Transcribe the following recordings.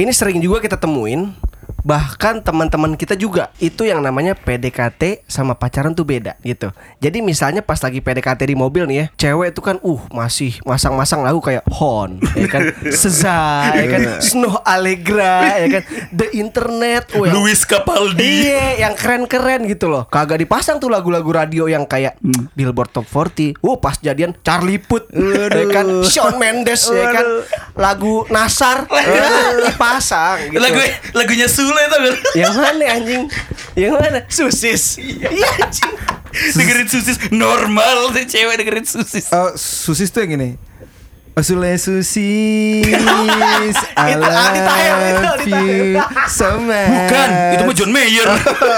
Ini sering juga kita temuin. Bahkan teman-teman kita juga itu yang namanya PDKT sama pacaran tuh beda gitu. Jadi misalnya pas lagi PDKT di mobil nih ya, cewek itu kan masih masang-masang lagu kayak Hon, ya kan, Seza, ya kan, Snow Allegra, ya kan, The Internet, Luis Capaldi. Iya, yang keren-keren gitu loh. Kagak dipasang tuh lagu-lagu radio yang kayak Billboard Top 40. Pas jadian Charlie Puth, ya kan, Shawn Mendes, ya kan, lagu Nasar, dipasang gitu. Lagunya Sule tau gak? Yang mana anjing? Yang mana? Susis. Iya anjing. Dengerin Susis normal tuh cewek dengerin Susis. Susis tuh yang ini. Sule Susis, I love you so much. Bukan, itu mah John Mayer.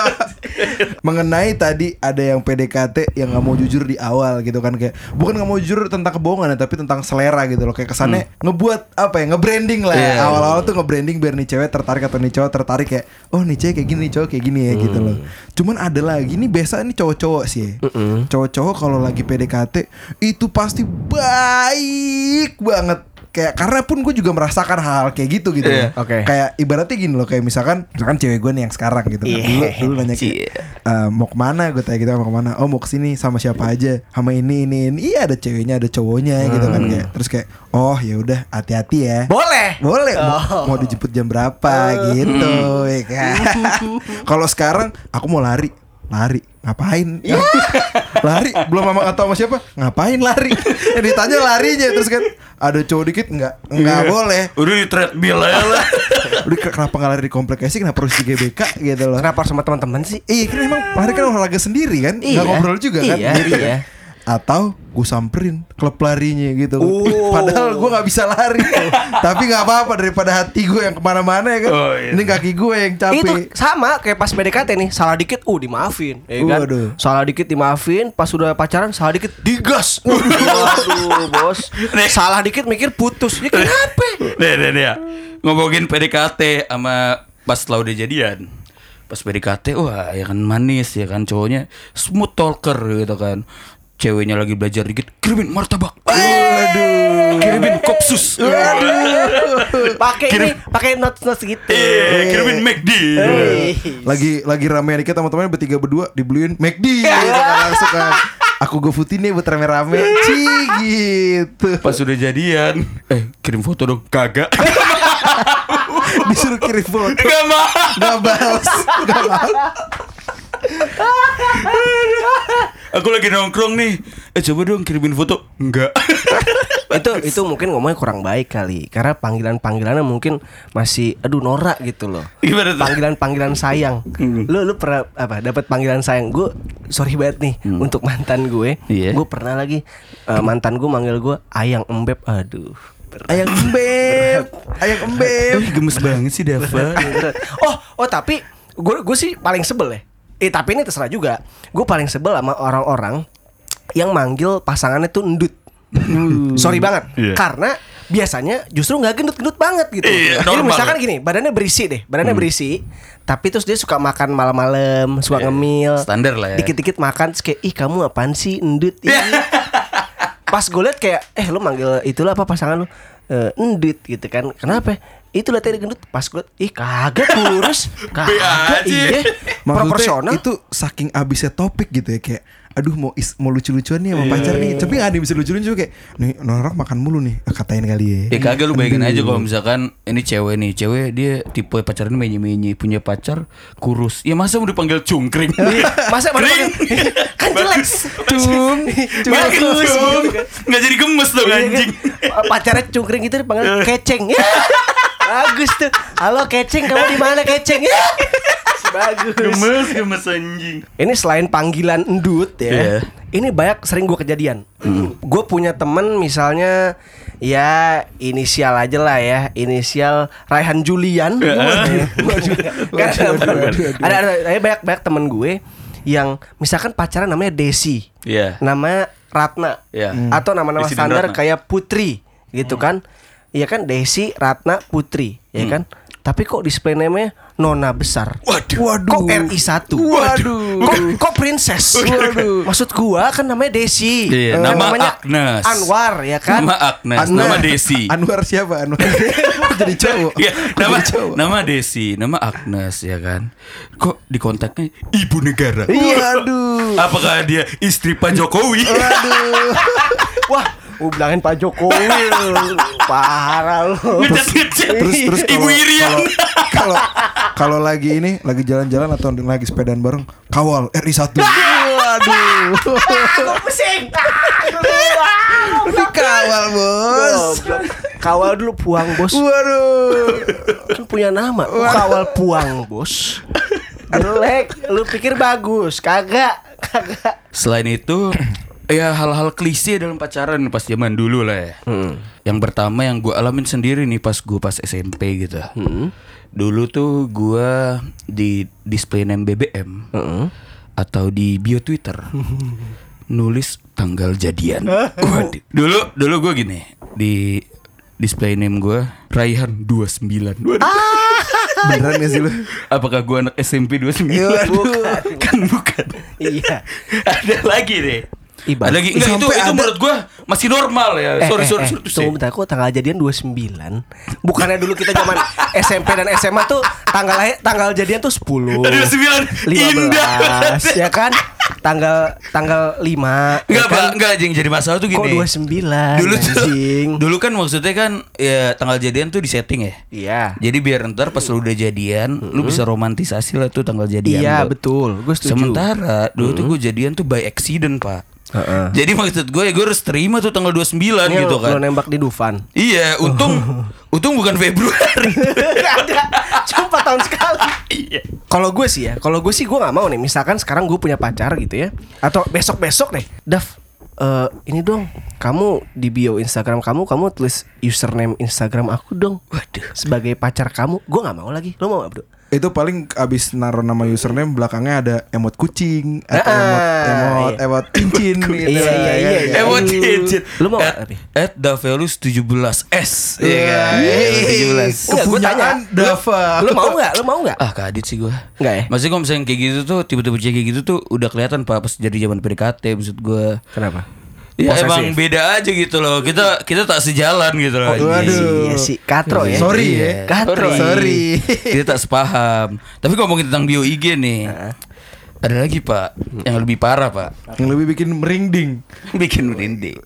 Mengenai tadi ada yang PDKT yang nggak mau jujur di awal gitu kan, kayak bukan nggak mau jujur tentang kebohongan ya, tapi tentang selera gitu loh, kayak kesannya ngebuat apa ya, nge-branding lah ya. Awal-awal tuh nge-branding biar nih cewek tertarik atau nih cowok tertarik, kayak oh nih cewek kayak gini, nih cowok kayak gini ya gitu loh. Cuman ada lagi nih, biasa nih cowok-cowok sih cowok-cowok kalau lagi PDKT itu pasti baik banget. Kayak karena pun gue juga merasakan hal kayak gitu Yeah. Oke. Kayak ibaratnya gini loh, kayak misalkan cewek gue nih yang sekarang gitu kan. Dulu nanya kayak mau kemana, gue tanya gitu, mau kemana, oh mau kesini sama siapa aja, sama ini. Iya ada ceweknya ada cowoknya gitu kan, kayak terus kayak oh ya udah hati-hati ya. Boleh mau dijemput jam berapa gitu ya kan. Kalau sekarang aku mau lari ngapain? Lari belum mama atau sama siapa? Ngapain lari? Yang ditanya larinya, terus kan ada cowok dikit nggak boleh. Udah di treadmill aja lah. Udah kenapa nggak lari di komplek sih? Kenapa harus di GBK gitu loh? Kenapa harus sama teman-teman sih? Iya kan emang lari kan olahraga sendiri kan, nggak ngobrol juga kan? Iya. Atau gue samperin klub larinya gitu. Padahal gue nggak bisa lari, tapi nggak apa-apa daripada hati gue yang kemana-mana ya kan. Ini kaki gue yang capek. Itu sama kayak pas PDKT nih, salah dikit dimaafin, ya kan? Salah dikit dimaafin, pas sudah pacaran salah dikit digas. Waduh bos, salah dikit mikir putus. Ya kenapa? Nih ya, ngomongin PDKT sama pas setelah udah jadian. Pas PDKT wah ya kan manis ya kan, cowoknya smooth talker gitu kan. Ceweknya lagi belajar dikit, kirimin martabak. Waduh. Kirimin kopsus. Waduh. Pakai notes gitu. Kirimin McD. Lagi rame dikit sama temannya bertiga berdua dibeliin McD gitu kan, langsung kan. Aku gofoodin nih buat rame-rame. Gitu. Pas udah jadian, kirim foto dong. Kagak. Disuruh kirim foto. Gak mau. Gak balas. Aku lagi nongkrong nih, coba dong kirimin foto. Enggak. Itu mungkin ngomongnya kurang baik kali, karena panggilannya mungkin masih norak gitu loh. Gimana tuh? Panggilan sayang. Lu pernah dapat panggilan sayang? Gue sorry banget nih untuk mantan gue. Gue pernah lagi mantan gue manggil gue ayang embeb. Aduh. Ayang embeb. Gemes banget sih Dava. Tapi gue sih paling sebel ya. Tapi ini terserah juga. Gue paling sebel sama orang-orang yang manggil pasangannya tuh endut. Sorry banget. Karena biasanya justru gak gendut-gendut banget gitu. Jadi misalkan gini, badannya berisi, tapi terus dia suka makan malam-malam, suka ngemil. Standar lah ya. Dikit-dikit makan, terus kayak, ih kamu apaan sih endut. Pas gue liat kayak, lu manggil itulah apa pasangan lu, endut gitu kan. Kenapa? Itu liat tadi gendut. Pas gue, kagak kurus. Kagak, iya proporsional. Itu saking abisnya topik gitu ya, kayak aduh mau lucu-lucuan nih sama pacar nih, tapi gak ada yang bisa lucu-lucuan juga, kayak nih orang makan mulu nih, katain kali ya. Kagak, lu bayangin aja kalau misalkan ini cewek dia tipe pacarnya menye-menye, punya pacar kurus. Ya masa mau dipanggil cungkring? Masa mau dipanggil kan jelek. Bagus. Nggak jadi gemes dong anjing. Pacarnya cungkring itu dipanggil keceng. Bagus tuh. Halo keceng, kamu di mana keceng? Bagus. Gemes anjing. Ini selain panggilan endut ya, ini banyak sering gue kejadian. Gue punya temen misalnya, ya inisial aja lah ya, inisial Raihan Julian. Ada banyak temen gue yang misalkan pacaran namanya Desi, nama Ratna, atau nama-nama standar kayak Putri gitu kan. Iya kan, Desi, Ratna, Putri, ya kan. tapi kok display name-nya Nona besar. Waduh. Kok RI1? Waduh. Kok princess? Waduh. Maksud gua kan namanya Desi. Iya, namanya Agnes. Anwar ya kan? Nama Agnes, nama Desi. Anwar siapa? Anwar jadi cowok. Iya, nama Desi, nama Agnes ya kan. Kok di kontaknya ibu negara? Waduh. Apakah dia istri Pak Jokowi? Waduh. Wah, gue bilangin Pak Jokowi. Parah lu. Ngecet. Terus Ibu Irian. kalau lagi jalan-jalan atau lagi sepedaan bareng, kawal RI1. Waduh. Aku pusing. Dikawal, Bos. Kawal dulu Puang, Bos. Waduh. Kan punya nama. Kawal Puang, Bos. Jelek. Lu pikir bagus? Kagak. Selain itu, ya hal-hal klise dalam pacaran pas zaman dulu lah ya. Yang pertama yang gue alamin sendiri nih pas SMP gitu. Dulu tuh gue di display name BBM atau di bio Twitter nulis tanggal jadian. Waduh. Dulu gue gini di display name gue Raihan 29. Waduh. Beneran gak sih lu? Apakah gue anak SMP 29? Bukan. Iya. Ada lagi deh. Ibarat. Ada lagi enggak itu menurut gue masih normal ya. Sorry. Tunggu bentar, kok tanggal jadian 29? Bukannya dulu kita zaman SMP dan SMA tuh tanggal jadian tuh 10. 29. 15 Indah. ya kan? Tanggal 5. Enggak, ya kan? enggak anjing, jadi masalah tuh gini. Kok 29? Dulu kan maksudnya kan ya tanggal jadian tuh di setting ya. Iya. Jadi biar ntar pas lu udah jadian, lu bisa romantisasi lah tuh tanggal jadian. Iya, lu. betul. Gue setuju. Sementara dulu tuh gue jadian tuh by accident, Pak. Jadi maksud gue ya gue harus terima tuh tanggal 29 Ini gitu kan. Lo nembak di Dufan. Iya, untung bukan Februari. Gak ada. Cuma 4 tahun sekali. Iya. Kalau gue sih gue nggak mau nih. Misalkan sekarang gue punya pacar gitu ya, atau besok deh, Dav, ini dong, kamu di bio Instagram kamu tulis username Instagram aku dong. Waduh. Sebagai pacar kamu, gue nggak mau lagi. Lo mau nggak, bro? Itu paling abis naruh nama username belakangnya ada emot kucing atau emot cincin gitu. Iya. Emot cincin. Lu mau nggak? @davelus 17s. Iya kan? 17. Kepunyaan Dava. Lu mau nggak? Ah, kadit sih gue. Nggak ya? Maksudnya kalau misalnya kayak gitu tuh tiba-tiba kayak gitu tuh udah kelihatan Pak pas jadi zaman PDKT maksud gue. Kenapa? Ya Posesif. emang beda aja gitu loh. Kita tak sejalan gitu loh. Waduh. Iya sih, katro ya. Sorry ya. Katro. Sorry. Kita tak sepaham. Tapi ngomongin tentang bio IG nih. Ada lagi Pak yang lebih parah Pak. Yang lebih bikin merinding. Bikin merinding.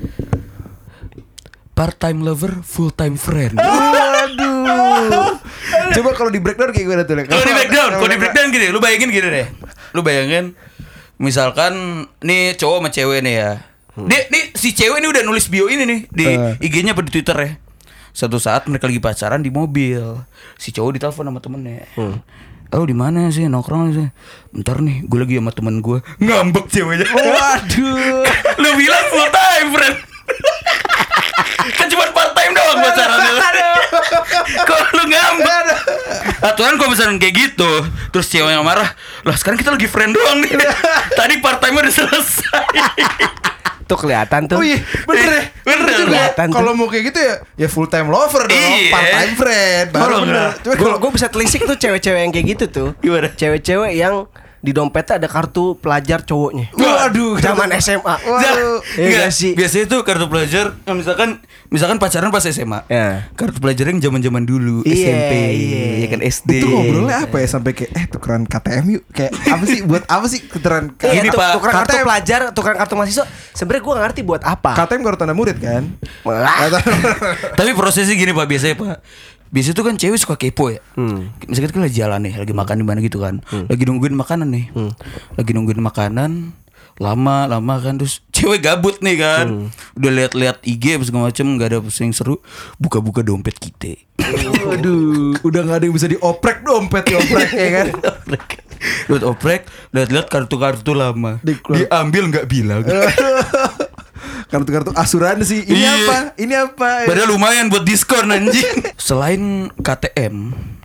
Part time lover, full time friend. Waduh. Coba kalau di breakdown kayak gimana tuh? Kalau di breakdown gini, lu bayangin gini deh. Lu bayangin misalkan nih cowok sama cewek nih ya. Nih si cewek ini udah nulis bio ini nih di IG-nya apa di Twitter ya. Suatu saat mereka lagi pacaran di mobil. Si cowok ditelepon sama temennya. Oh di mana sih nongkrong sih? Bentar nih, gue lagi sama temen gue. Ngambek ceweknya. Waduh. Lu bilang full time friend. Kan cuma part time doang pacarannya. Kok lu ngambek? Aturan kalau misalnya kayak gitu, terus cewek yang marah, lah sekarang kita lagi friend doang nih. Tadi part time udah selesai. Tuh kelihatan tuh. Oh iya, bener juga. Kelihatan tuh. Kalau mau kayak gitu ya full time lover dong, Iya. part time friend. Baru bener. Coba kalau Gue bisa telisik tuh cewek-cewek yang kayak gitu tuh. Gimana? Cewek-cewek yang di dompetnya ada kartu pelajar cowoknya. Waduh, Zaman SMA. Waduh. Iya gak sih? Biasanya tuh kartu pelajar, misalkan pacaran pas SMA. Ya. Kartu pelajar yang zaman-zaman dulu, Iya, SMP, iya. ya kan SD. itu ngobrolnya apa ya sampai kayak tukeran KTM yuk. Kayak apa sih buat apa sih tukeran Iya, Ini, tuh, Pak, tukeran kartu KTM. pelajar, tukeran kartu mahasiswa. Sebenarnya gue gak ngerti buat apa. KTM kartu tanda murid kan? Tapi prosesnya gini Pak, biasanya Pak. Biasanya tuh kan cewek suka kepo ya. Misalnya kita lagi jalan nih, lagi makan di mana gitu kan. Lagi nungguin makanan nih. Lagi nungguin makanan, lama kan terus cewek gabut nih kan. Udah lihat-lihat IG apa segala macem, enggak ada yang seru, buka-buka dompet kita. Waduh, udah gak ada yang bisa dioprek dompet ya kan? Lihat oprek, lihat kartu-kartu lama. Diambil nggak bilang. Kartu-kartu asuransi. Ini Iya. apa? Ini apa? Padahal lumayan buat diskon anjing. Selain KTM,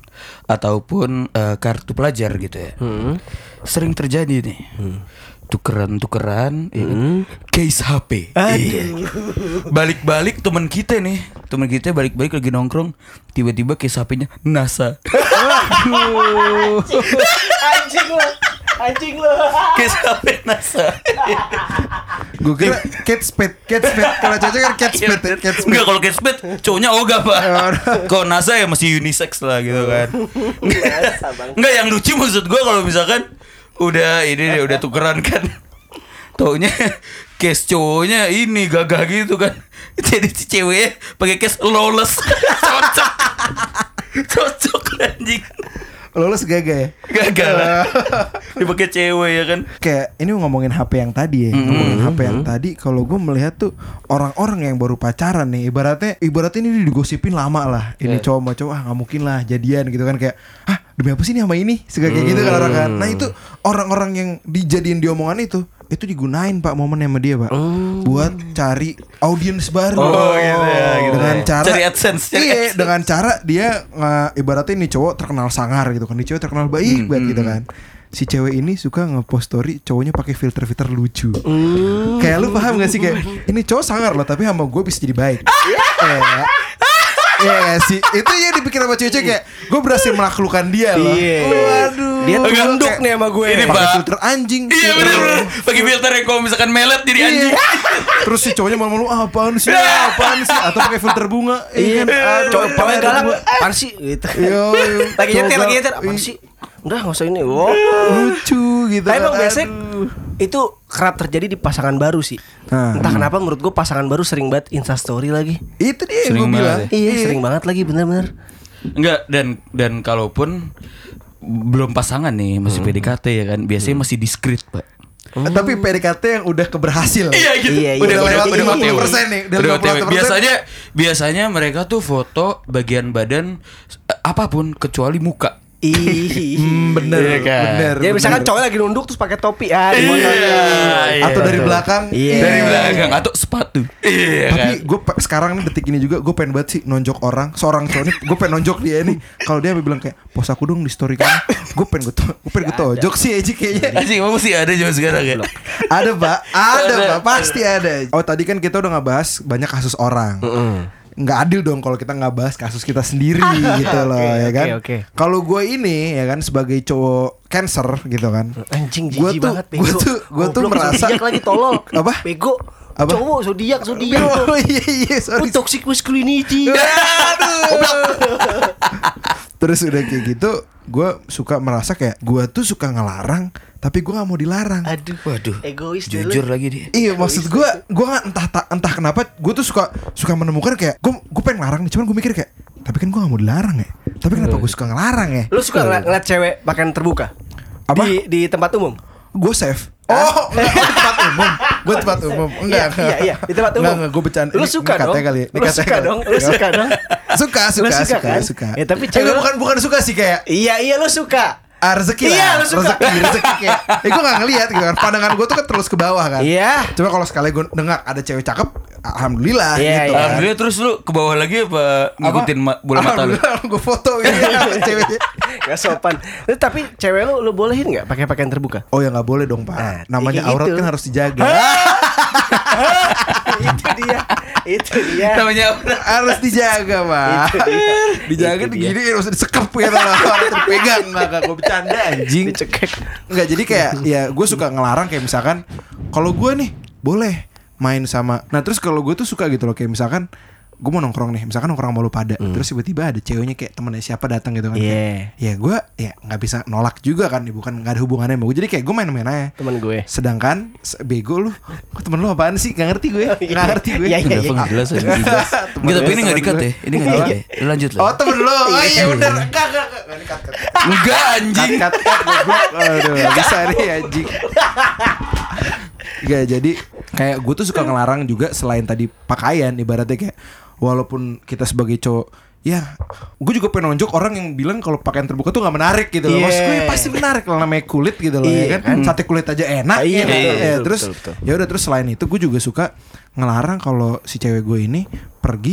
ataupun kartu pelajar gitu ya. Sering terjadi nih. Tukeran ya kan? Case HP. Iya. Balik-balik teman kita balik-balik lagi nongkrong, tiba-tiba case HP-nya NASA. Anjing lo. Case HP NASA. Gue kira Kate Spade. Kalau cowok kan Kate Spade. Enggak, kalau Kate Spade cowoknya Oga, Pak. Kalau NASA ya masih unisex lah gitu kan. Enggak, yang lucu maksud gue kalau misalkan udah tukeran kan, taunya case cowoknya ini gagah gitu kan, jadi si ceweknya pakai case lawless. cocok anjing. Lolos gagah ya? Gagah lah. Dipakai cewek ya kan. Kayak ini ngomongin HP yang tadi ya. Ngomongin HP yang tadi, kalau gue melihat tuh orang-orang yang baru pacaran nih, ibaratnya ini digosipin lama lah. Ini cowok sama cowok nggak mungkin lah jadian gitu kan, kayak demi apa sih nih sama ini? Segala kayak gitu kan orang kan. Nah itu orang-orang yang dijadiin di omongan itu digunain Pak momen sama dia Pak, buat cari audiens baru. Gitu ya, gitu dengan ya. cara Cari AdSense. dengan cara dia ibaratnya ini cowok terkenal sangar gitu kan, ini cewek terkenal baik banget gitu kan. Si cewek ini suka ngepost story cowoknya pakai filter lucu. Kayak lu paham gak sih, kayak ini cowok sangar loh tapi sama gue bisa jadi baik. Iya sih, itu yang dipikir sama cewek-cewek, kayak gue berhasil menaklukkan dia loh. Waduh, dia tunduk nih sama gue. Ini Pakai Pak, filter anjing. iya bener. Pakai filter yang kalau misalkan melet jadi anjing. Terus si cowoknya malu-malu apaan sih atau pakai filter bunga. Iya, cowok paling galak apaan sih gitu. Yo, Lagi nyetir apaan sih? Udah nggak usah ini. Wow, lucu gitu. Tapi emang biasanya itu kerap terjadi di pasangan baru sih. Entah kenapa menurut gue pasangan baru sering banget Instastory lagi. Itu dia Sering yang gue bilang. banget. Iya, sering banget lagi, bener-bener. Enggak, dan kalaupun belum pasangan nih, masih PDKT ya kan, biasanya masih diskret, Pak. Tapi PDKT yang udah keberhasil. Iya gitu. Iya, Udah iya, udah iya, 50% nih. Udah Udah OTW. 50%. Biasanya mereka tuh foto bagian badan apapun kecuali muka. Bener, Iya kan? bener. Ya misalkan cowok lagi nunduk terus pakai topi. Di Iya. Atau dari belakang. Iya. Dari belakang atau sepatu. Iya kan. Tapi gue sekarang nih detik ini juga gue pengen banget sih nonjok seorang cowok nih, gue pengen nonjok dia nih. Kalau dia bilang kayak pos aku dong di story kamu, gue pengen gue tonjok sih aja kayaknya. Anjing, emang sih ada juga sekarang ya. Ada Pak, pasti ada. Oh tadi kan kita udah ngebahas banyak kasus orang. Nggak adil dong kalau kita nggak bahas kasus kita sendiri gitu loh, ya kan. Kalau gue ini ya kan sebagai cowok Cancer gitu kan, Anjing Gua jijik tuh- banget gua tuh merasa- zodiak lagi tolol. Apa? Bego. Apa? Cowok zodiak. oh iya sorry. Toxic masculinity. Terus udah kayak gitu, gue suka merasa kayak gue tuh suka ngelarang, tapi gue nggak mau dilarang. Aduh. Waduh. Egois Jujur lagi dia. Iya maksud gue nggak entah kenapa gue tuh suka menemukan kayak gue pengen ngelarang nih, cuman gue mikir kayak tapi kan gue nggak mau dilarang ya. Tapi kenapa gue suka ngelarang ya? Lu suka ngeliat cewek pakaian terbuka? Apa? Di tempat umum? Gue safe. Oh, enggak, di tempat umum. Gue tempat umum. Enggak. Iya, di tempat umum. Enggak, gue bercanda. Lu suka dong? Kali. Lu suka dong? Lu suka dong? Suka. Ya tapi cewek bukan suka sih kayak Iya lu suka. rezeki Iya, lah. lu suka. Rezeki kayak. Gue gak ngeliat gitu kan. Pandangan gue tuh kan terus ke bawah kan. Iya. Cuma kalau sekali gue dengar ada cewek cakep, alhamdulillah Iya, gitu iya. kan. Alhamdulillah, terus lu ke bawah lagi apa ngikutin bola mata lu? Alhamdulillah gue foto gitu sama ceweknya. Gak sopan. Tapi cewek lu bolehin gak pakai pakaian terbuka? Oh ya nggak boleh dong Pak. Nah, Namanya kayak aurat gitu. kan harus dijaga. Itu dia. Namanya Harus dijaga Pak. Itu dia. Dijaga Itu dia. gini harus disekep gitu lah. Harus dipegang. Nggak gue bercanda anjing. Dicekek. Enggak, jadi kayak ya gue suka ngelarang kayak misalkan kalau gue nih boleh main sama. Nah terus kalau gue tuh suka gitu loh, kayak misalkan gue mau nongkrong nih, misalkan nongkrong sama lu pada, terus tiba-tiba ada ceweknya kayak temennya siapa datang gitu kan. Iya. Ya gue ya nggak bisa nolak juga kan, bukan nggak ada hubungannya sama gue. Jadi kayak gue main-main aja. Temen gue. Sedangkan bego lu, kok temen lu apaan sih? Gak ngerti gue. Gak ngerti gue. Iya, iya. Udah nggak jelas aja. Enggak, tapi ini enggak di-cut ya. Ini enggak di-cut ya. Lu lanjut lah. Oh temen lu. Oh iya bener. Enggak di-cut. Enggak anjing. Cut goblok. Aduh, gak bisa nih anjing. Gak, jadi kayak gue tuh suka ngelarang juga selain tadi pakaian, ibaratnya kayak walaupun kita sebagai cowok, ya gue juga pengen nonjok orang yang bilang kalau pakaian terbuka tuh gak menarik gitu loh. Yeah. Maksud gue pasti menarik lah, namanya kulit gitu loh. Iya, Ya kan sate kulit aja enak. Iya, ya, betul, ya, betul, terus betul. ya udah, terus selain itu gue juga suka ngelarang kalau si cewek gue ini pergi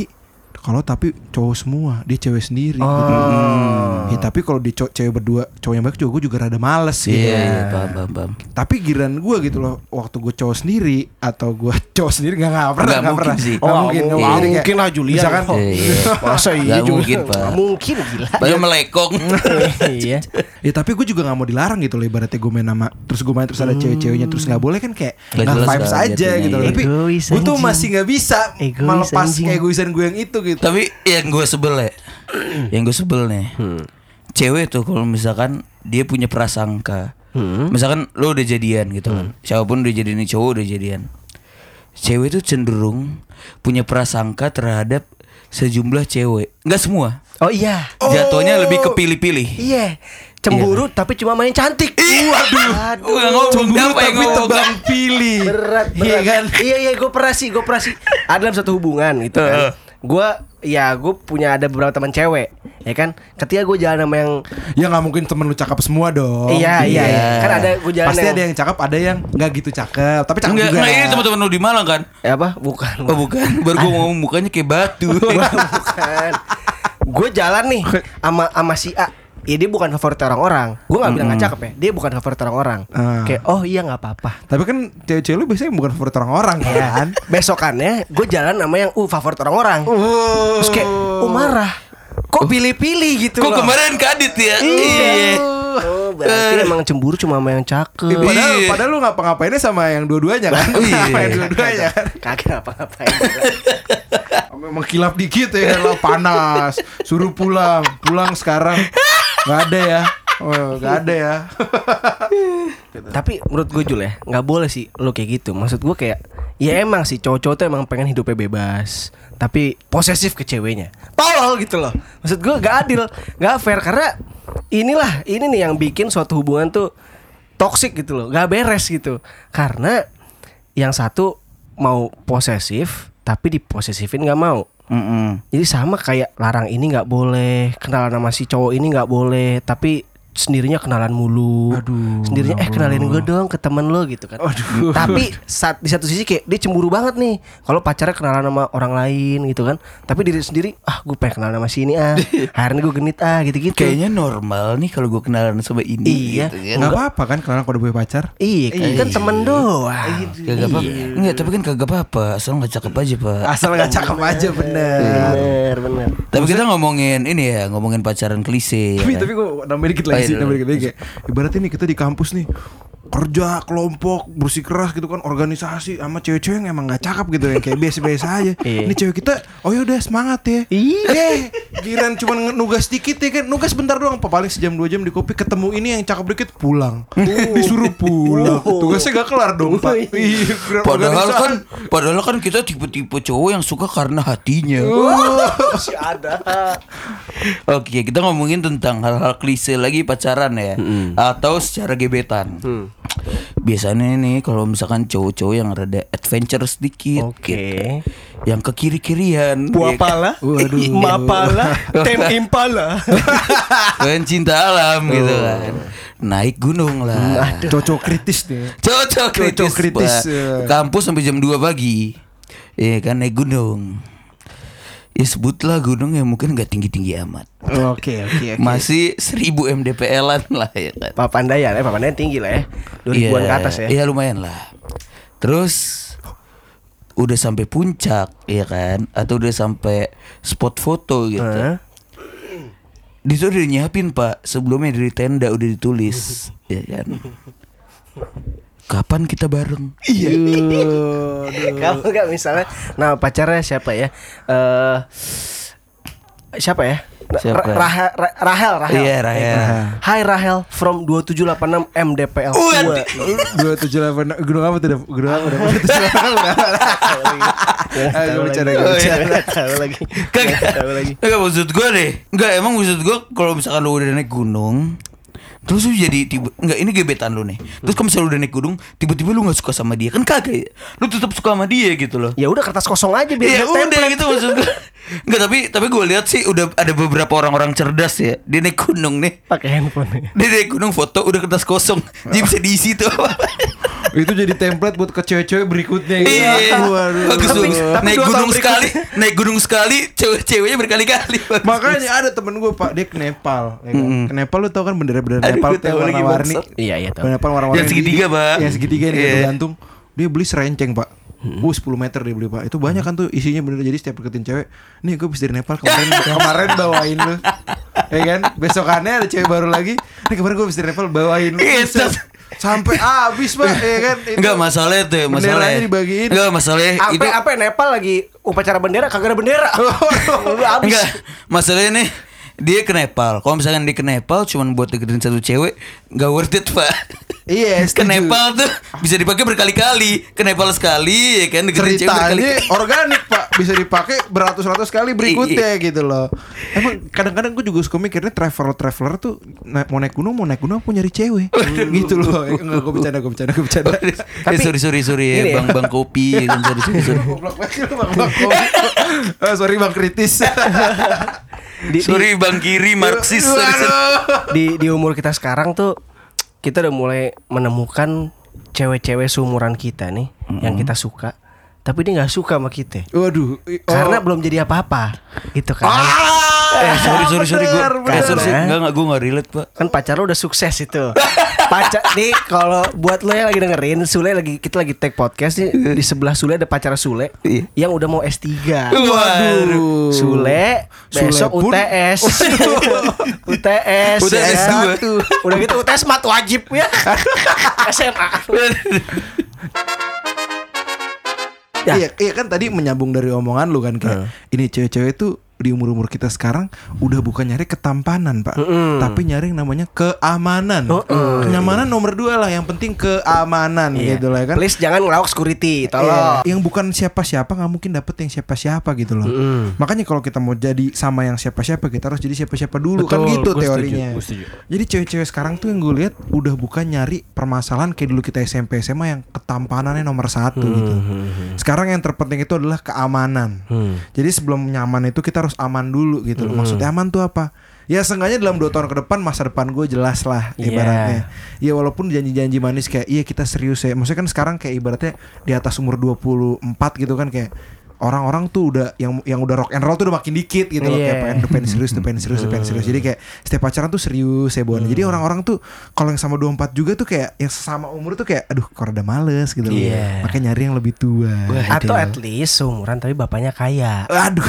kalau tapi cowok semua, dia cewek sendiri gitu. Ya, tapi kalau di cewek berdua, cowok yang baik juga gue juga rada males gitu. Iya, paham. Tapi giliran gue gitu loh, waktu gue cowok sendiri atau gue cowok sendiri nggak pernah. Nggak mungkin sih. Nggak mungkin. Mungkin lah Julian. Misalkan Masa iya Nggak juga. mungkin, Pak. Nggak mungkin gila. Baru melekong. Iya. ya tapi gue juga nggak mau dilarang gitu loh, ibaratnya gue main sama, terus gue main terus ada cewek-ceweknya, terus nggak boleh kan kayak Nggak nggak jelas vibes kan aja jatuhnya, gitu loh. iya. Tapi Egois, gue tuh anjing. masih nggak bisa Egois, melepas anjing. keegoisan gue yang itu gitu. Tapi yang gue sebel ya, yang gue sebel nih, cewek tuh kalau misalkan dia punya prasangka, misalkan lo udah jadian gitu kan, siapapun udah jadian, cowok udah jadian, cewek tuh cenderung punya prasangka terhadap sejumlah cewek, nggak semua. Oh iya. Jatuhnya lebih kepilih-pilih. Iya. Cemburu tapi cuma main cantik. Waduh. Nggak ngomong, Cemburu apa yang tapi ngomong? tebang pilih. Berat. Iya kan? Iya gue pernah sih. Ada dalam satu hubungan gitu kan. Gue punya ada beberapa teman cewek, ya kan. Ketika gue jalan sama yang Ya nggak mungkin temen lu cakep semua dong. iya. Kan ada gue jalan Pasti ada yang cakep, ada yang nggak gitu cakep, tapi cakep juga. Enggak, ini teman-teman lu di Malang kan? apa? Bukan. Oh bukan, baru gue ngomong mukanya kayak batu. Bukan. Gue jalan nih sama si A. Ya dia bukan favorit orang-orang. Gue nggak bilang nggak cakep ya. Dia bukan favorit orang-orang. Kayak oh iya nggak apa-apa. Tapi kan cewek-cewek lu biasanya bukan favorit orang-orang kan? Besokannya gue jalan sama yang favorit orang-orang. Terus kayak marah. Kok pilih-pilih gitu Kok loh. kemarin kadit ya? Iya. Oh, berarti emang cemburu cuma sama yang cakep. Padahal lu ngapa-ngapainnya sama yang dua-duanya kan? Sama yang dua-duanya kan? Kagak ngapa-ngapain. Memang kilap dikit ya lah, panas. Suruh pulang sekarang. Nggak ada ya. Oh, nggak ada ya. Tapi menurut gue Jul ya, nggak boleh sih lo kayak gitu. Maksud gue kayak ya emang sih cowok-cowok tuh emang pengen hidupnya bebas, tapi posesif ke ceweknya. Tolol gitu loh. Maksud gue gak adil, gak fair. Karena ini nih yang bikin suatu hubungan tuh toxic gitu loh, gak beres gitu. Karena yang satu mau posesif tapi diposesifin gak mau. Jadi sama kayak larang ini gak boleh, kenalan sama si cowok ini gak boleh, tapi sendirinya kenalan mulu. Sendirinya kenalin gue dong ke temen lo gitu kan. Tapi di satu sisi kayak dia cemburu banget nih kalau pacarnya kenalan sama orang lain gitu kan. Tapi diri sendiri gue pengen kenalan sama si ini hari ini gue genit gitu-gitu. Kayaknya normal nih kalau gue kenalan sama ini. Iya. Gitu kan. Nggak apa-apa kan kalau udah punya pacar? Iya kan temen doang. Kagak apa-apa. Enggak, tapi kan kagak apa-apa. Asal nggak cakep aja, Pak. Asal nggak cakep aja bener. Bener. Tapi kita ngomongin ini ya, ngomongin pacaran klise. Ya kan? Tapi gue nambahin dikit lagi sih, nambahin dikit lagi kayak ibaratnya nih kita di kampus nih kerja kelompok bersikeras gitu kan, organisasi sama cewek-cewek yang emang nggak cakep gitu yang kayak biasa-biasa aja. Ini cewek kita oh ya udah semangat ya. Giran cuman nugas dikit ya kan, nugas bentar doang, paling sejam 2 jam di kopi, ketemu ini yang cakep dikit pulang. Disuruh pulang. Tugasnya gak kelar dong, Pak. Padahal kan kita tipe-tipe cowok yang suka karena hatinya. Masih ada. Oke, kita ngomongin tentang hal-hal klise lagi pacaran ya, atau secara gebetan. Biasanya nih kalau misalkan cowok-cowok yang rada adventure sedikit, gitu, yang ke kiri-kirian, Buapala, Mapala, Tem Impala, kan cinta alam gitu kan, naik gunung lah. Cocok kritis nih. Cocok kritis, ya. kampus sampai jam 2 pagi, ya kan naik gunung. Ya sebutlah gunung yang mungkin gak tinggi-tinggi amat. Oke. Masih 1000 mdpl-an lah ya kan. Papandayan tinggi lah ya, 2000-an ke atas ya. Iya lumayan lah. Terus udah sampai puncak ya kan, atau udah sampai spot foto gitu. Di situ udah nyiapin Pak, sebelumnya dari tenda udah ditulis ya kan. Kapan kita bareng? Iya. Kamu gak misalnya nama pacarnya siapa ya? Siapa ya? Siapa? Rahel. Iya, Rahel. Hai Rahel from 2786 MDPL. 278 gunung apa tuh? Gunung apa? 278. Tahu lagi. Kagak maksud gue deh. Enggak, emang maksud gue kalau misalkan lu udah naik gunung, terus lu jadi ini gebetan lu nih. Terus kalau misalnya lu udah naik gunung, tiba-tiba lu gak suka sama dia, kan kagak ya? Lu tetap suka sama dia gitu loh. Ya udah kertas kosong aja biar Ya udah gitu maksud gue. Enggak, tapi gue lihat sih udah ada beberapa orang-orang cerdas ya. Dia naik gunung nih, pakai handphone. dia naik gunung foto udah kertas kosong. Jadi bisa diisi tuh. Itu jadi template buat ke cewek-cewek berikutnya gitu. Iya. Waduh. Bagus tuh. tapi Naik 2 tahun gunung sekali, naik gunung sekali, cewek-ceweknya berkali-kali. Bagus. Makanya ada temen gue Pak, dia ke Nepal ya kan? Ke Nepal lu tau kan bendera-bendera Aduh, Nepal gue tuh yang tahu lagi, warna-warni. bangsat. Iya tahu. Nepal warna-warni. Yang segitiga, Pak. Yang segitiga yang Iya. gantung. Dia beli serenceng Pak. 10 meter dia beli Pak. Itu banyak kan tuh isinya bener. Jadi setiap deketin cewek, nih gue habis dari Nepal kemarin bawain lu. Ya kan? Besokannya ada cewek baru lagi. Nih kemarin gue habis dari Nepal bawain lu. Iya, Buset. Sampai habis Pak, ya kan? Itu Enggak masalah itu, masalah. benderanya dibagiin. Enggak masalah itu. Apa Nepal lagi upacara bendera kagak ada bendera. Udah habis. Enggak, masalahnya nih dia ke Nepal. Kalau misalkan dia ke Nepal cuman buat deketin satu cewek, enggak worth it, Pak. Iya, Ke setuju. Nepal tuh bisa dipakai berkali-kali. Ke Nepal sekali ya kan deketin cewek Ceritanya berkali-kali. organik Pak, bisa dipakai beratus-ratus kali berikutnya gitu loh. Emang kadang-kadang gue juga suka mikirnya traveler tuh mau naik gunung apa nyari cewek gitu loh. Enggak, gue bercanda. Tapi sorry Gini ya. bang kopi kan sorry. Goblok banget lu, Bang. Sorry Bang kritis. Sorry bang kiri Marxis. Sorry. Di umur kita sekarang tuh kita udah mulai menemukan cewek-cewek seumuran kita nih yang kita suka, tapi dia nggak suka sama kita. Waduh. Karena belum jadi apa-apa, gitu kan? Sorry gue. bener. Sorry enggak gue nggak relate pak. Kan pacar lo udah sukses itu. Pacar nih kalau buat lo yang lagi dengerin, kita lagi take podcast nih, di sebelah Sule ada pacar Sule Iya. yang udah mau S3. Waduh. Sule besok Sule pun- UTS. UTS Udah ya S2. kan? Udah gitu UTS mat wajib ya. SMA. Ya. Iya kan tadi menyambung dari omongan lu kan kayak ini cewek-cewek tuh di umur-umur kita sekarang udah bukan nyari ketampanan Pak, tapi nyari yang namanya keamanan. Kenyamanan nomor 2 lah, yang penting keamanan gitu lah kan. Please jangan ngelawak security, tolong. Yang bukan siapa-siapa nggak mungkin dapet yang siapa-siapa gitu loh. Makanya kalau kita mau jadi sama yang siapa-siapa, kita harus jadi siapa-siapa dulu. Betul, kan gitu gua teorinya. setuju. Jadi cewek-cewek sekarang tuh yang gue lihat udah bukan nyari permasalahan kayak dulu kita SMP SMA yang ketampanannya nomor 1 gitu. Sekarang yang terpenting itu adalah keamanan. Jadi sebelum nyaman itu kita harus aman dulu gitu loh. Maksudnya aman tuh apa? Ya seenggaknya dalam 2 tahun ke depan masa depan gue jelas lah ibaratnya. Ya walaupun janji-janji manis kayak iya kita serius ya. Maksudnya kan sekarang kayak ibaratnya di atas umur 24 gitu kan kayak orang-orang tuh udah yang udah rock and roll tuh udah makin dikit gitu loh, kayak pengen serius. Jadi kayak setiap pacaran tuh serius ya Bon. Jadi orang-orang tuh kalau yang sama 24 juga tuh kayak yang sama umur tuh kayak aduh kok rada males gitu loh. Makanya nyari yang lebih tua. Atau at least seumuran tapi bapaknya kaya. Aduh.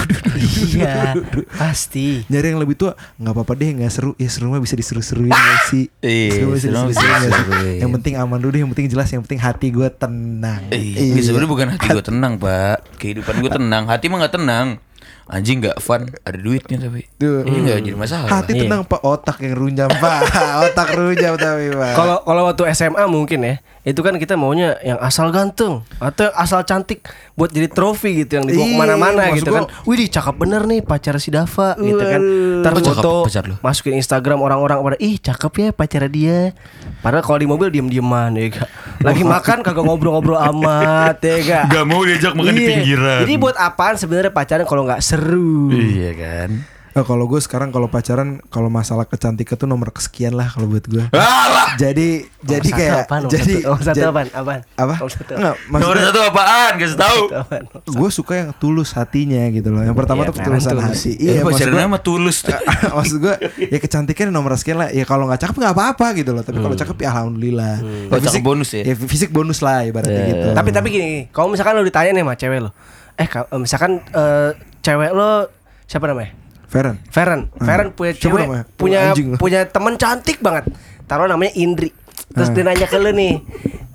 Iya, pasti. Nyari yang lebih tua nggak apa-apa deh, nggak seru. Ya seru mah bisa diseru-seruin gak sih? Iya, Seru bisa seru diseru-seruin bisa gak sih? diseruin. Yang penting aman dulu deh, yang penting jelas, yang penting hati gue tenang. Ini sebenarnya bukan hati gue tenang pak. Kehidupan gue tenang, hati mah nggak tenang. Anjing nggak fun, ada duitnya tapi Tuh. ini nggak jadi masalah. Hati tenang Pak, otak yang runjam Pak. Otak runjam tapi Pak. Kalau waktu SMA mungkin ya, itu kan kita maunya yang asal ganteng atau asal cantik buat jadi trofi gitu yang dibawa Iya, kemana-mana maksud gitu gua- kan. Wih, cakep bener nih pacar si Dava gitu kan. Ntar Oh, cakep foto pacar lu? masukin Instagram orang-orang pada ih cakep ya pacar dia. Padahal kalau di mobil diem-dieman ya gak. Lagi makan kagak ngobrol-ngobrol amat ya gak. Gak mau diajak makan di Iya. pinggiran. Jadi buat apaan sebenarnya pacaran kalau nggak seru? Iya kan. Kalau gue sekarang kalau pacaran, kalau masalah kecantikan tuh nomor kesekian lah kalau buat gue. Alah. Jadi Nomor satu kayak apaan? jadi Nomor satu jadi- apaan? Apaan? Apa? Nomor satu. Enggak, Nomor maksudnya 1 apaan? Kasih tahu. Apaan? gue suka yang tulus hatinya gitu loh. Yang pertama Iya, tuh ketulusan tulus. hati. Iya, maksud pacaran gua- sama tulus. maksud gue ya kecantikan nomor sekian lah. Ya kalau nggak cakep nggak apa-apa gitu loh. Tapi kalau cakep ya alhamdulillah. Oh, cakep bonus ya? Ya fisik bonus lah ibaratnya gitu. Tapi gini, kalau misalkan lo ditanya nih sama cewek lo, misalkan cewek lo siapa namanya? Feren. Feren punya Siapa cewek, namanya? punya Anjing. punya teman cantik banget. Taruh namanya Indri. Terus dia nanya ke lo nih,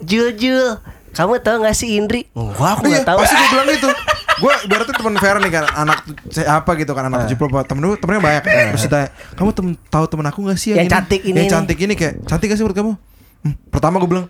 Jul, kamu tahu nggak sih Indri? Enggak, aku Iya, nggak tahu. pasti gue bilang gitu. Gue ibaratnya teman Feren nih kan, anak apa gitu kan, anak 70 temennya banyak. Terus ditanya, kamu tahu temen aku nggak sih Yang ini? cantik ini Yang nih." cantik ini kayak cantik gak sih menurut kamu? Pertama gue bilang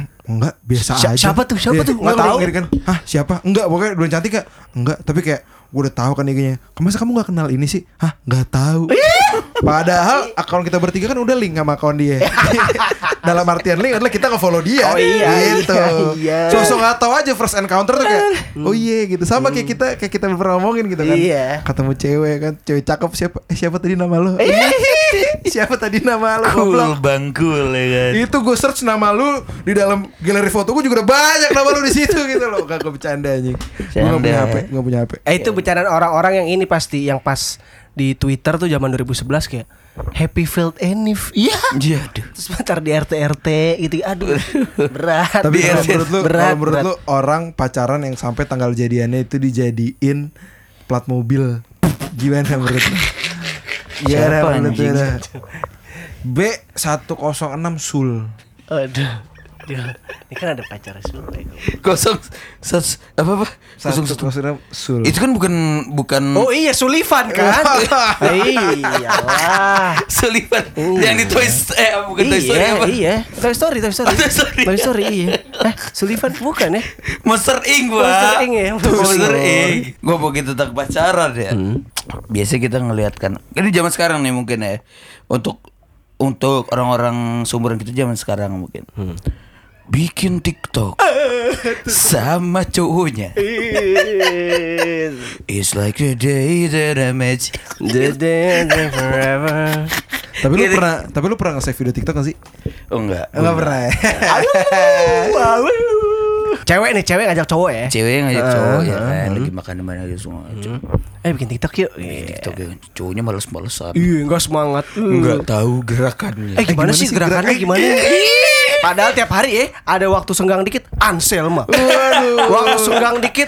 enggak, biasa aja. Siapa tuh? Iya, Nggak nggak tahu tahu. gitu kan. Hah, siapa? Enggak, pokoknya belum cantik gak? Enggak, tapi kayak gue udah tahu kan IG-nya. Masa kamu nggak kenal ini sih? Hah, nggak tahu. Padahal akun kita bertiga kan udah link sama akun dia. Dalam artian link adalah kita nge-follow dia. Oh iya, gitu. iya. Sosok nggak tahu aja first encounter tuh kayak, oh iya gitu. Sama kayak kita pernah ngomongin gitu kan. Iya. Ketemu cewek kan, cewek cakep siapa tadi nama lo? Siapa tadi nama lo? Cool bangkul ya kan. Itu gue search nama lu di dalam galeri foto gue juga udah banyak nama lu di situ gitu loh. Gak bercanda anjing. Gue gak punya HP, gak punya HP. Itu bercandaan orang-orang yang ini pasti yang pas di Twitter tuh zaman 2011 kayak Happy Filled Enif. Iya. Iya, aduh. Terus pacar di RT gitu. Aduh. Berat. Tapi kalau berat, menurut lu orang pacaran yang sampai tanggal jadiannya itu dijadiin plat mobil, gimana menurut lu? Siapa menurut anjing? lu? B106 Sul. Aduh. Ini kan ada pacar Sul. Kosong apa 106 Sul. itu kan bukan Oh iya Sullivan kan. Iyalah. Sullivan yang di bukan Toy Story apa? Iya. Toy Story. Toy Story iya. Sullivan bukan ya? Monster Inc. Monster Inc. ya. Monster Inc. Gue begitu tentang pacaran ya. Biasa kita ngelihat kan. Ini zaman sekarang nih mungkin ya. Untuk orang-orang seumuran kita zaman sekarang mungkin. Bikin TikTok sama cowoknya. It's like the day that I met you. The day that forever. Tapi lu pernah nge-save video TikTok gak sih? Oh enggak. Enggak pernah ya. Cewek ngajak cowok ya. Cewek yang ngajak cowok ya kan lagi makan di mana gitu semua. Bikin TikTok yuk. TikTok ya cowoknya males-malesan. Iya, enggak semangat. Enggak tahu gerakannya. Gimana sih gerakannya gimana? Padahal tiap hari ya ada waktu senggang dikit Anselma. Waduh. Waktu senggang dikit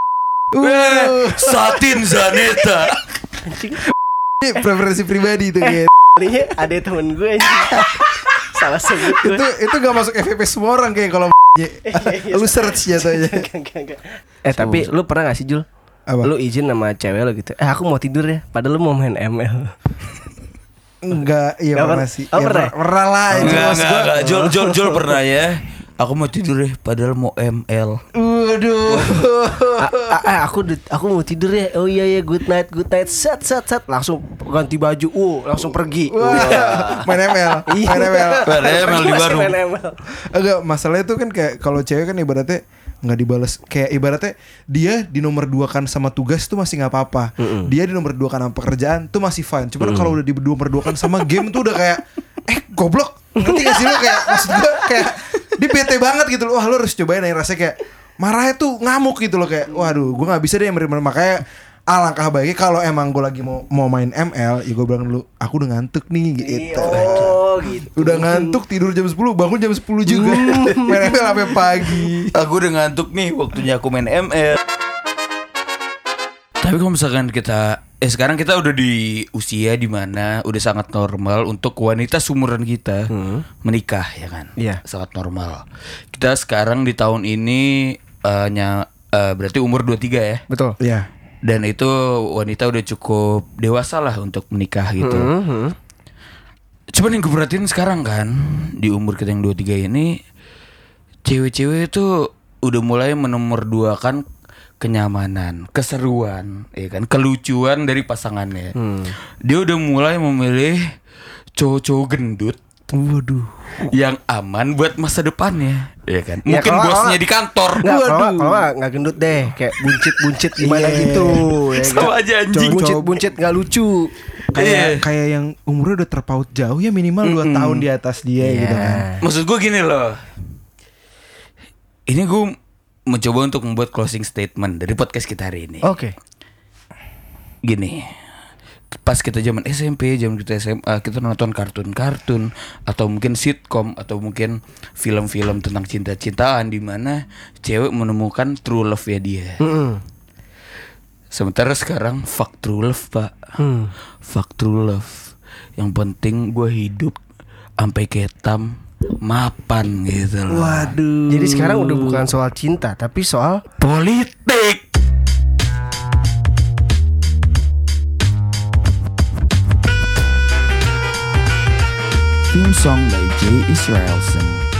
Satin Zaneta. anjing. Ini preferensi pribadi itu kayak. Kalinya ada temen gue anjing. Salah sebut gue. Itu gak masuk FVP semua orang kayak kalau lu search jatuhnya. Enggak. Tapi lu pernah gak sih Jul? Apa? Lu izin sama cewek lo gitu. Aku mau tidur ya. Padahal lu mau main ML. Enggak, iya pernah sih. Oh, pernah? Pernah lah itu. Enggak. Jol pernah ya. Aku mau tidur ya, padahal mau ML. Waduh. Aku mau tidur ya. Oh iya good night. Set. Langsung ganti baju. Langsung pergi. Main ML. Main ML di warung. Main ML. Enggak, masalahnya tuh kan kayak kalau cewek kan ibaratnya nggak dibales, kayak ibaratnya dia di nomor 2 kan sama tugas tuh masih nggak apa-apa. Dia di nomor 2 kan sama pekerjaan tuh masih fine. Cuman kalau udah di nomor 2 kan sama game tuh udah kayak goblok. Ngerti gak sih lo kayak maksud gue kayak dia bete banget gitu loh. Wah lo harus cobain aja rasanya kayak marahnya tuh ngamuk gitu loh kayak waduh gue nggak bisa deh makanya alangkah baiknya kalau emang gue lagi mau main ML ya gue bilang dulu aku udah ngantuk nih gitu. Gitu. Udah ngantuk tidur jam 10 bangun jam 10 juga. Main ML sampai pagi. Aku udah ngantuk nih waktunya aku main ML. Tapi kalau misalkan kita sekarang kita udah di usia dimana udah sangat normal untuk wanita seumuran kita menikah ya kan. Iya. Sangat normal. Kita sekarang di tahun ini berarti umur 23 ya. Betul. Iya. Dan itu wanita udah cukup dewasa lah untuk menikah gitu. Cuman yang gue perhatiin sekarang kan di umur kita yang 23 ini cewek-cewek itu udah mulai menomorduakan kenyamanan, keseruan, ya kan, kelucuan dari pasangannya. Dia udah mulai memilih cowok-cowok gendut. Waduh. Yang aman buat masa depannya, ya kan. Ya, Mungkin bosnya di kantor. Kalau nggak gendut deh, kayak buncit gimana gitu. Ya, sama aja anjing. Buncit nggak lucu. Kayak yang umurnya udah terpaut jauh ya minimal 2 tahun di atas dia gitu kan. Maksud gue gini loh. Ini gue mencoba untuk membuat closing statement dari podcast kita hari ini. Oke. Gini. Pas kita zaman SMP, zaman kita SMA, kita nonton kartun-kartun atau mungkin sitcom atau mungkin film-film tentang cinta-cintaan di mana cewek menemukan true love ya dia. Sementara sekarang fuck true love, Pak. Fuck true love. Yang penting gue hidup sampai ketam mapan gitu loh. Waduh. Jadi sekarang udah bukan soal cinta tapi soal politik. Theme song by Jay Israelson.